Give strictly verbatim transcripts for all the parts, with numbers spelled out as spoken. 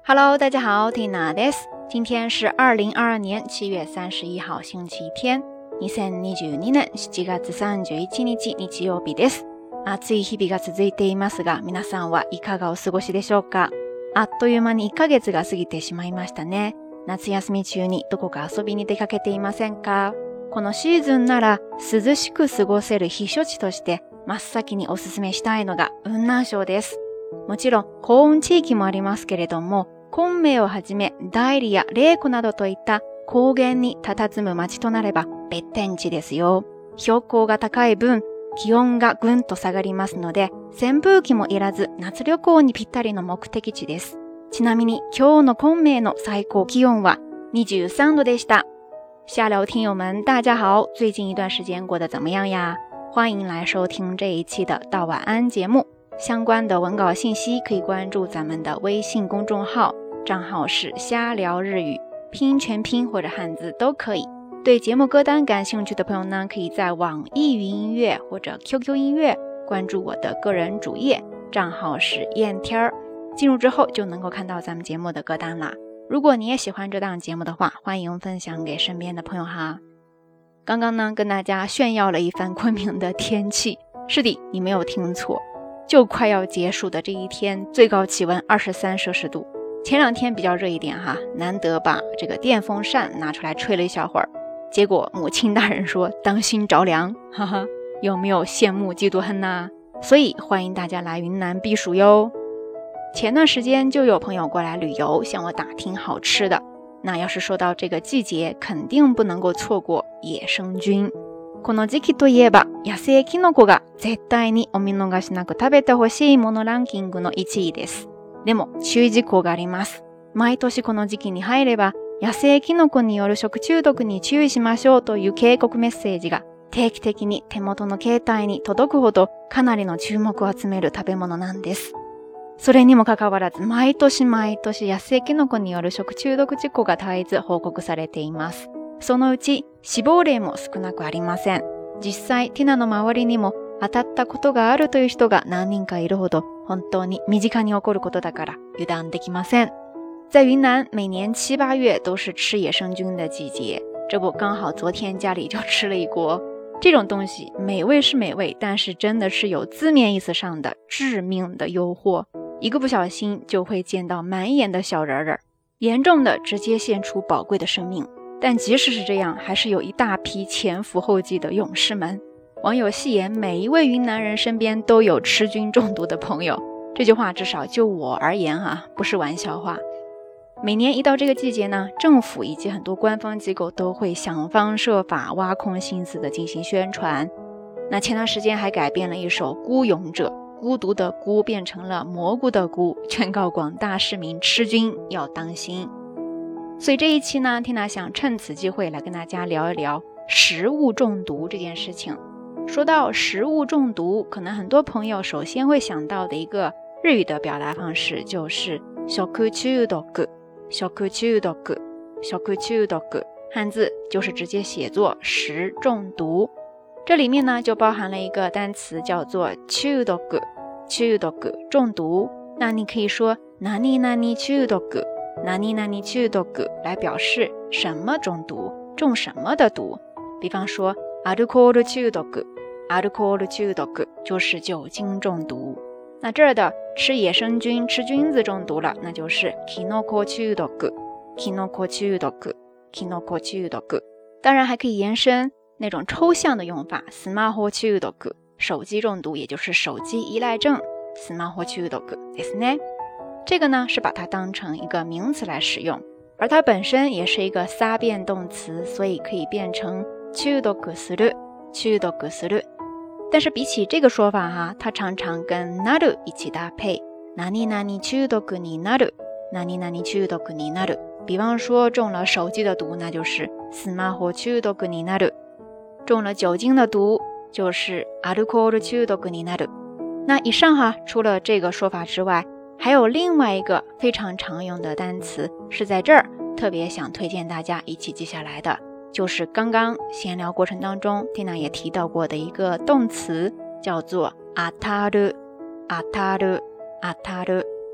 Hello， 大家好，Tina です。今天是二零二二年七月三十一号星期天。にせんにじゅうにねんしちがつさんじゅういちにち日曜日です。暑い日々が続いていますが、皆さんはいかがお過ごしでしょうか。あっという間にいっかげつが過ぎてしまいましたね。夏休み中にどこか遊びに出かけていませんか。このシーズンなら涼しく過ごせる避暑地として真っ先におすすめしたいのが雲南省です。もちろん高温地域もありますけれども、昆明をはじめ大理や麗湖などといった高原に佇む町となれば別天地ですよ。標高が高い分、気温がぐんと下がりますので、扇風機もいらず夏旅行にぴったりの目的地です。ちなみに今日の昆明の最高気温はにじゅうさんどでした。下聊听友们大家好，最近一段时间过得怎么样呀？欢迎来收听这一期的到晚安节目。相关的文稿信息可以关注咱们的微信公众号，账号是瞎聊日语，拼音全拼或者汉字都可以。对节目歌单感兴趣的朋友呢，可以在网易云音乐或者 Q Q 音乐关注我的个人主页，账号是燕天儿，进入之后就能够看到咱们节目的歌单啦。如果你也喜欢这档节目的话，欢迎分享给身边的朋友哈。刚刚呢，跟大家炫耀了一番昆明的天气，是的，你没有听错，就快要结束的这一天，最高气温二十三摄氏度。前两天比较热一点哈，难得把这个电风扇拿出来吹了一小会儿，结果母亲大人说当心着凉，哈哈，有没有羡慕嫉妒恨呢？所以欢迎大家来云南避暑哟。前段时间就有朋友过来旅游，向我打听好吃的。那要是说到这个季节，肯定不能够错过野生菌。この時期といえば野生キノコが絶対にお見逃しなく食べてほしいものランキングのいちいです。でも注意事項があります。毎年この時期に入れば野生キノコによる食中毒に注意しましょうという警告メッセージが定期的に手元の携帯に届くほどかなりの注目を集める食べ物なんです。それにもかかわらず毎年毎年野生キノコによる食中毒事故が絶えず報告されています。そのうち死亡例も少なくありません。実際ティナの周りにも当たったことがあるという人が何人かいるほど本当に身近に起こることだから油断できません。在云南每年七八月都是吃野生菌的季节，这不刚好昨天家里就吃了一锅。这种东西美味是美味，但是真的是有字面意思上的致命的诱惑，一个不小心就会见到满眼的小人儿，严重的直接献出宝贵的生命。但即使是这样，还是有一大批前赴后继的勇士们。网友戏言每一位云南人身边都有吃菌中毒的朋友，这句话至少就我而言哈，不是玩笑话。每年一到这个季节呢，政府以及很多官方机构都会想方设法挖空心思的进行宣传。那前段时间还改编了一首孤勇者，孤独的孤变成了蘑菇的菇，劝告广大市民吃菌要当心。所以这一期呢，Tina想趁此机会来跟大家聊一聊食物中毒这件事情。说到食物中毒，可能很多朋友首先会想到的一个日语的表达方式就是食中毒，食中毒，食中毒，汉字就是直接写作食中毒。这里面呢就包含了一个单词叫做中毒，中毒，中毒。那你可以说何々中毒，何々中毒来表示什么中毒，中什么的毒。比方说アルコール中毒，アルコール中毒就是酒精中毒。那这儿的吃野生菌，吃菌子中毒了，那就是キノコ中毒，キノコ中毒，キノコ中毒。当然还可以延伸那种抽象的用法，スマホ中毒，手机中毒，也就是手机依赖症，スマホ中毒ですね。这个呢是把它当成一个名词来使用，而它本身也是一个撒变动词，所以可以变成中毒する，中毒する。但是比起这个说法哈，它常常跟なる一起搭配，何々中毒になる，何々中毒になる。比方说中了手机的毒，那就是スマホ中毒になる；中了酒精的毒，就是アルコール中毒になる。那以上哈，除了这个说法之外，还有另外一个非常常用的单词，是在这儿特别想推荐大家一起记下来的，就是刚刚闲聊过程当中 Tina 也提到过的一个动词，叫做当たる、当たる、当たる。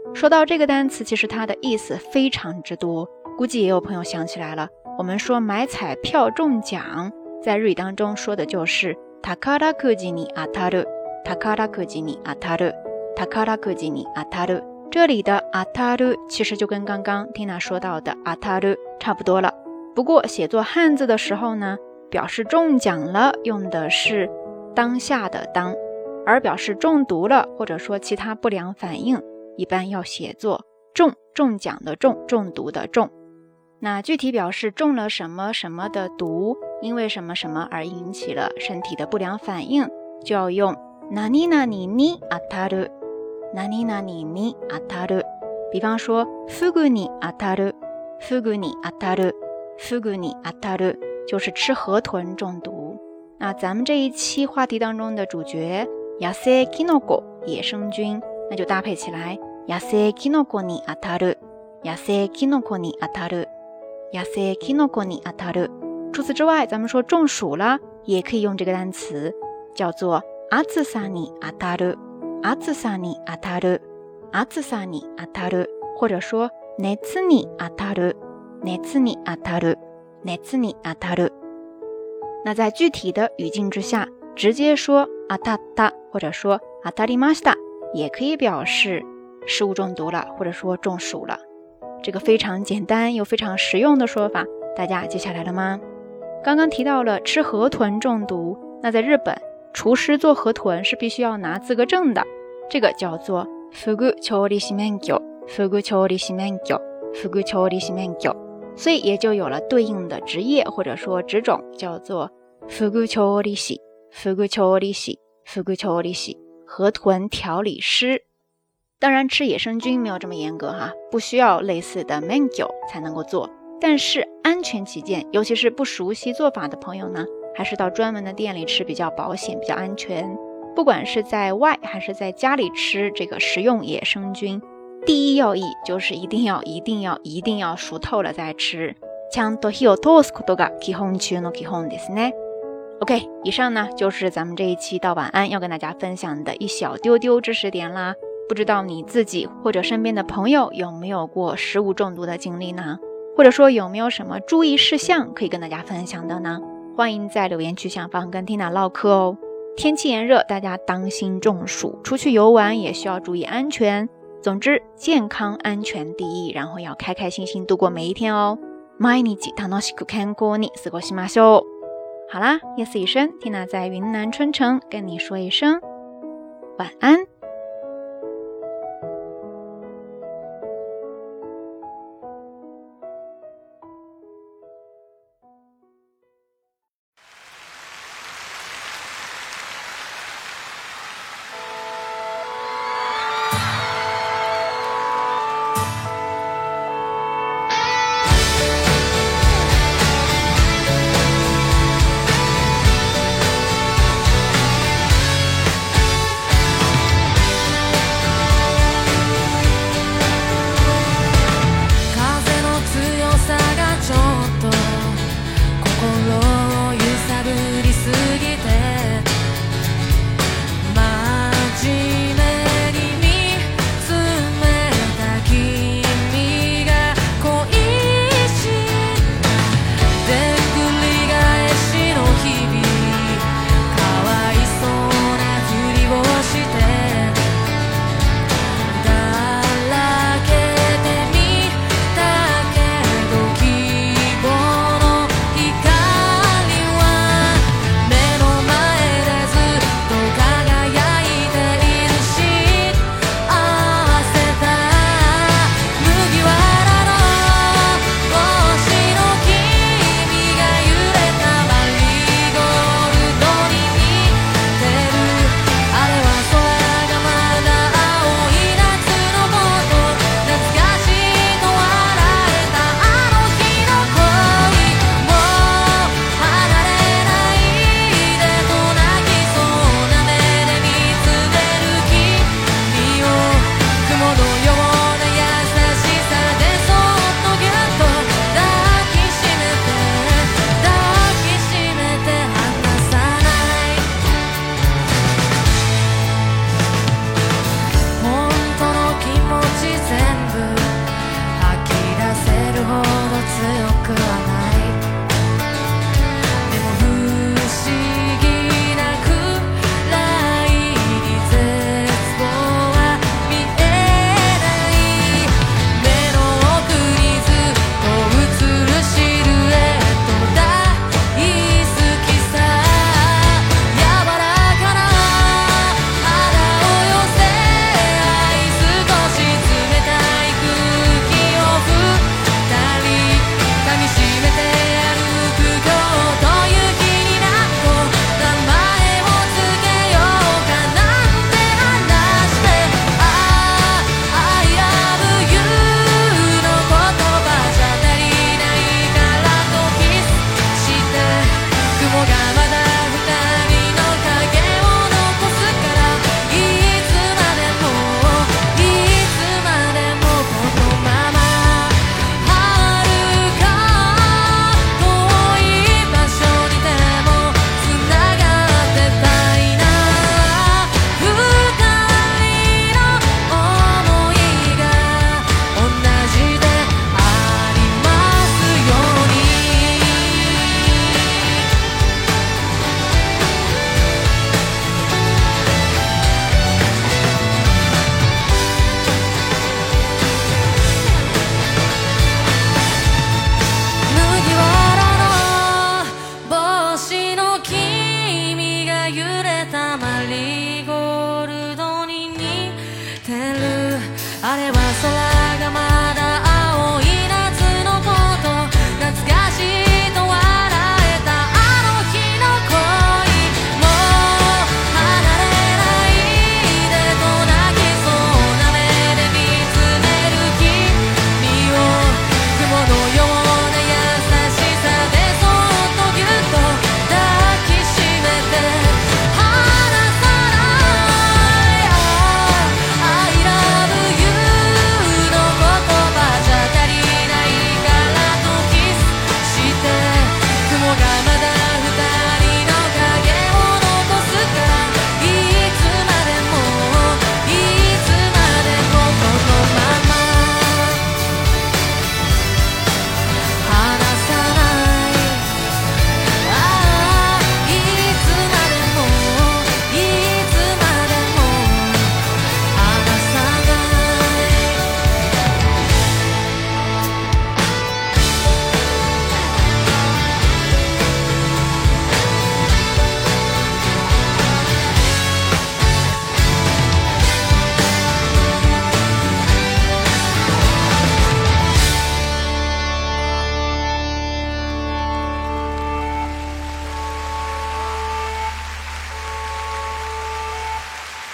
说到这个单词，其实它的意思非常之多，估计也有朋友想起来了。我们说买彩票中奖，在日语当中说的就是宝くじに当たる、宝くじに当たる、宝くじに当たる。这里的当たる其实就跟刚刚 Tina 说到的当たる差不多了。不过写作汉字的时候呢，表示中奖了用的是当下的当，而表示中毒了或者说其他不良反应，一般要写作中，中奖的中，中毒的中。那具体表示中了什么什么的毒，因为什么什么而引起了身体的不良反应，就要用何々に当たる、何々に当たる。比方说フグに当たる、フグに当たる、フグに当たる，就是吃河豚中毒。那咱们这一期话题当中的主角野生キノコ野生菌，那就搭配起来野生キノコに当たる、野生キノコに当たる、野生キノコに当たる。除此之外，咱们说中暑了也可以用这个单词，叫做暑さに当たる、暑さに当たる、暑さに当たる，或者说熱に当たる、熱に当たる、熱に当たる。那在具体的语境之下，直接说当たった或者说当たりました也可以表示食物中毒了或者说中暑了。这个非常简单又非常实用的说法，大家记下来了吗？刚刚提到了吃河豚中毒，那在日本厨师做河豚是必须要拿资格证的，这个叫做フグ調理師免許、フグ調理師免許、フグ調理師免許，所以也就有了对应的职业或者说职种，叫做フグ調理師、フグ調理師、フグ調理師、河豚调理师。当然吃野生菌没有这么严格哈，不需要类似的免許才能够做，但是安全起见，尤其是不熟悉做法的朋友呢，还是到专门的店里吃比较保险比较安全。不管是在外还是在家里吃这个食用野生菌，第一要义就是一定要一定要一定要熟透了再吃。ちゃんと火を通すことが基本中の基本ですね。OK， 以上呢就是咱们这一期到晚安要跟大家分享的一小丢丢知识点啦。不知道你自己或者身边的朋友有没有过食物中毒的经历呢？或者说有没有什么注意事项可以跟大家分享的呢？欢迎在留言区下方跟 Tina 唠嗑哦。天气炎热，大家当心中暑，出去游玩也需要注意安全。总之健康安全第一，然后要开开心心度过每一天哦。毎日楽しく健康に過ごしましょう。好啦，夜色已深， Tina 在云南春城跟你说一声晚安。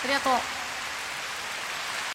りがとう。